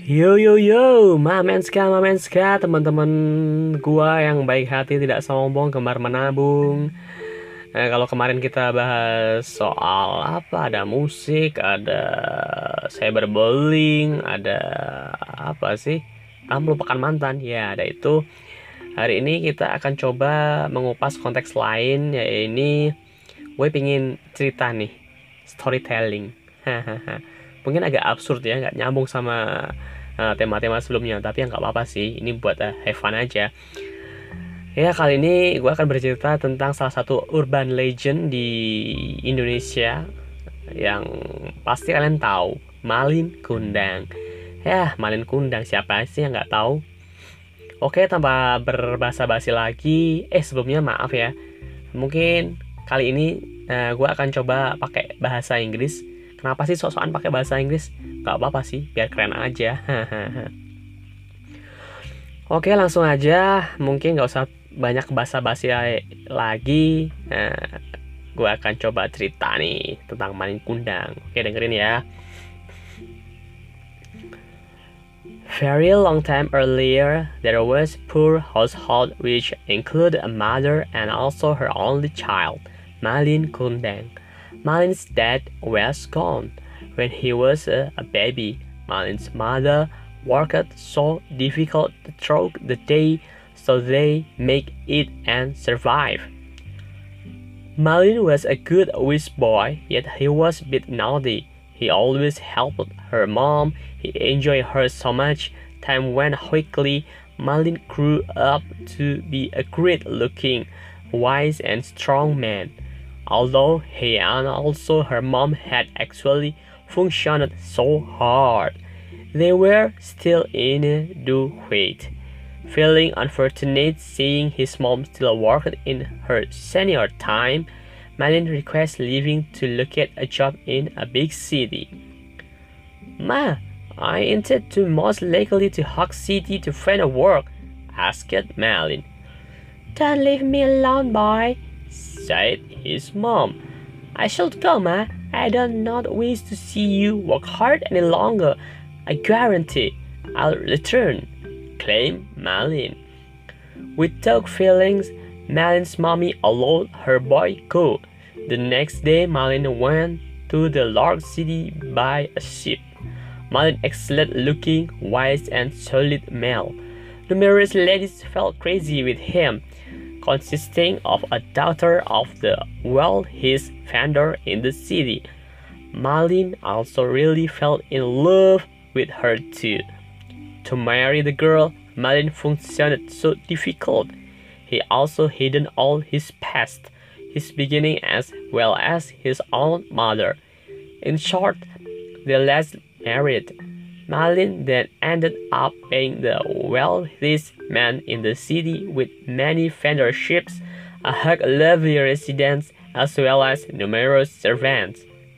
Yo yo yo, Mamenska, teman-teman gua yang baik hati, tidak sombong, gemar menabung. Kalau kemarin kita bahas soal apa? Ada musik, ada cyberbullying, ada apa sih? Melupakan mantan. Ya, ada itu. Hari ini kita akan coba mengupas konteks lain, yaitu gue pingin cerita nih, storytelling. Hahaha. Mungkin agak absurd ya, nggak nyambung sama tema-tema sebelumnya, tapi yang nggak apa-apa sih. Ini buat have fun aja. Ya, kali ini gue akan bercerita tentang salah satu urban legend di Indonesia yang pasti kalian tahu, Malin Kundang. Ya, Malin Kundang siapa sih yang nggak tahu? Oke, tanpa berbasa-basi lagi, sebelumnya maaf ya. Mungkin kali ini gue akan coba pakai bahasa Inggris. Kenapa sih sok-sokan pakai bahasa Inggris? Gak apa-apa sih, biar keren aja. Oke, langsung aja. Mungkin gak usah banyak basa-basi lagi. Gue akan coba cerita nih tentang Malin Kundang. Oke, dengerin ya. Very long time earlier, there was a poor household which included a mother and also her only child, Malin Kundang. Malin's dad was gone when he was a baby. Malin's mother worked so difficult throughout the day so they make it and survive. Malin was a good wish boy, yet he was a bit naughty. He always helped her mom. He enjoyed her so much. Time went quickly. Malin grew up to be a great-looking, wise and strong man. Although he and also her mom had actually functioned so hard, they were still in a due wait. Feeling unfortunate seeing his mom still worked in her senior time, Malin requests leaving to look at a job in a big city. Ma, I intend to most likely to Hawk City to find a work, asked Malin. Don't leave me alone, boy, said his mom. I should go, Ma. I do not wish to see you work hard any longer. I guarantee I'll return, claimed Malin. With dark feelings, Malin's mommy allowed her boy go. The next day, Malin went to the large city by a ship. Malin, excellent-looking, wise and solid male. Numerous ladies fell crazy with him, consisting of a daughter of the wealthiest vendor in the city. Malin also really fell in love with her too. To marry the girl, Malin found so difficult. He also hidden all his past, his beginning as well as his own mother. In short, the last married. Malin then ended up being the wealthiest man in the city with many vendor-ships, a lovely residence, as well as numerous servants.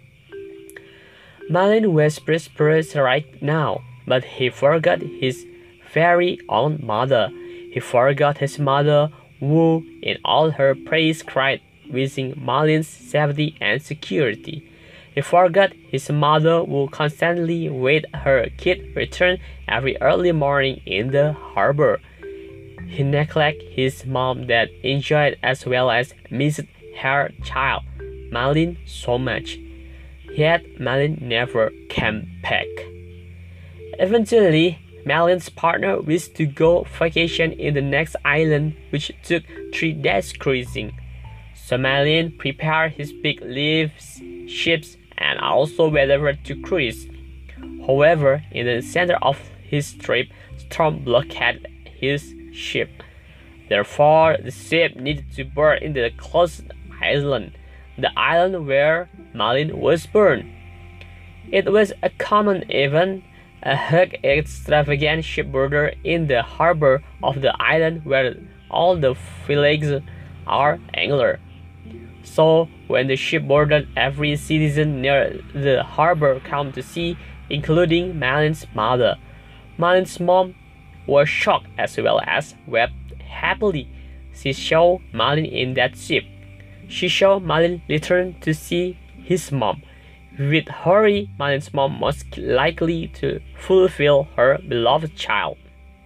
Malin was prosperous right now, but he forgot his very own mother. He forgot his mother, who in all her praise cried, wishing Malin's safety and security. He forgot his mother who constantly waited her kid return every early morning in the harbor. He neglected his mom that enjoyed as well as missed her child, Malin, so much. Yet Malin never came back. Eventually, Malin's partner wished to go vacation in the next island, which took 3 days cruising. So Malin prepared his big leaves, ships, and also wherever to cruise. However, in the center of his trip, storm blockaded his ship. Therefore, the ship needed to berth in the closest island, the island where Malin was born. It was a common event, a huge extravagant shipboarder in the harbor of the island where all the villages are anglers. So, when the ship boarded, every citizen near the harbor came to see, including Malin's mother. Malin's mom was shocked as well as wept happily. She saw Malin in that ship. She saw Malin return to see his mom, With Hurry, Malin's mom most likely to fulfill her beloved child.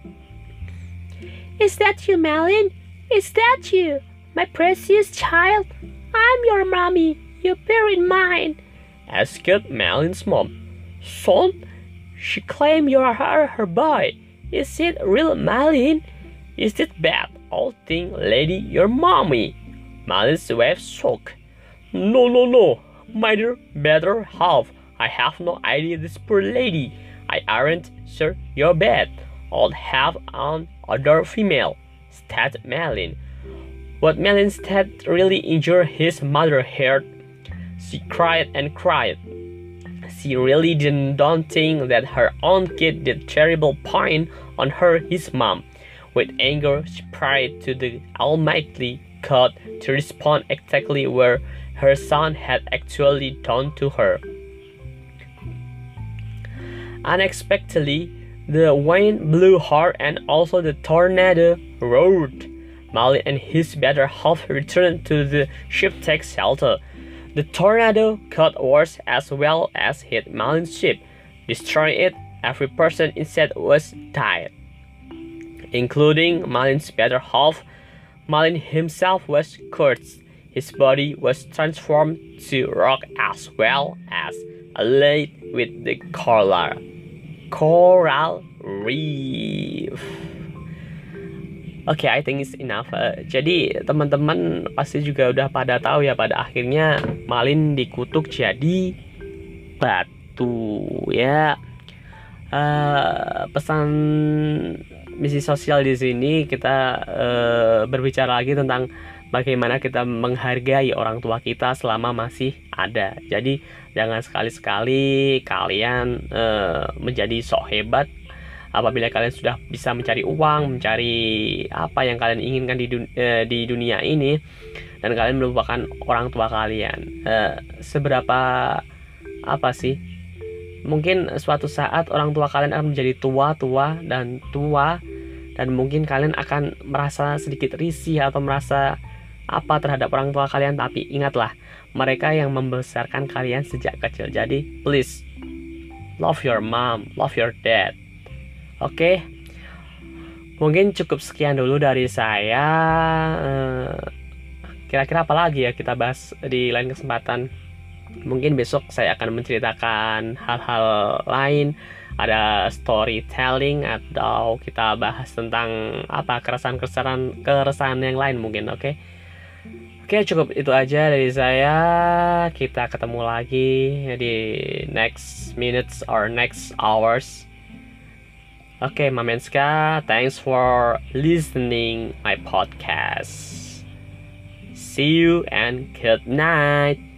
Is that you, Malin? Is that you, my precious child? I'm your mommy. You buried mine, asked Malin's mom. Son, she claimed you are her boy. Is it real, Malin? Is it bad old thing, lady, your mommy? Malin's wife shook. No, my dear better half. I have no idea this poor lady. I aren't sure you're bad. I'll have an other female, said Malin. What Malin said really injured his mother's heart. She cried and cried. She really don't think that her own kid did terrible point on her, his mom. With anger, she prayed to the Almighty God to respond exactly where her son had actually done to her. Unexpectedly, the wind blew hard and also the tornado roared. Malin and his better half returned to the ship take shelter. The tornado cut worse as well as hit Malin's ship, destroying it. Every person inside was died, including Malin's better half. Malin himself was cursed. His body was transformed to rock as well as allied with the coral reef. I think it's enough. Jadi teman-teman pasti juga udah pada tahu ya, pada akhirnya Malin dikutuk jadi batu ya. Pesan misi sosial di sini kita berbicara lagi tentang bagaimana kita menghargai orang tua kita selama masih ada. Jadi jangan sekali-sekali kalian menjadi sok hebat apabila kalian sudah bisa mencari uang, mencari apa yang kalian inginkan di dunia ini, dan kalian melupakan orang tua kalian. Seberapa apa sih? Mungkin suatu saat orang tua kalian akan menjadi tua dan mungkin kalian akan merasa sedikit risih atau merasa apa terhadap orang tua kalian, tapi ingatlah, mereka yang membesarkan kalian sejak kecil. Jadi please love your mom, love your dad. Oke, mungkin cukup sekian dulu dari saya. Kira-kira apa lagi ya kita bahas di lain kesempatan. Mungkin besok saya akan menceritakan hal-hal lain, ada storytelling, atau kita bahas tentang apa keresahan yang lain mungkin. Oke, cukup itu aja dari saya. Kita ketemu lagi di next minutes or next hours. Mamenska, thanks for listening my podcast. See you and good night.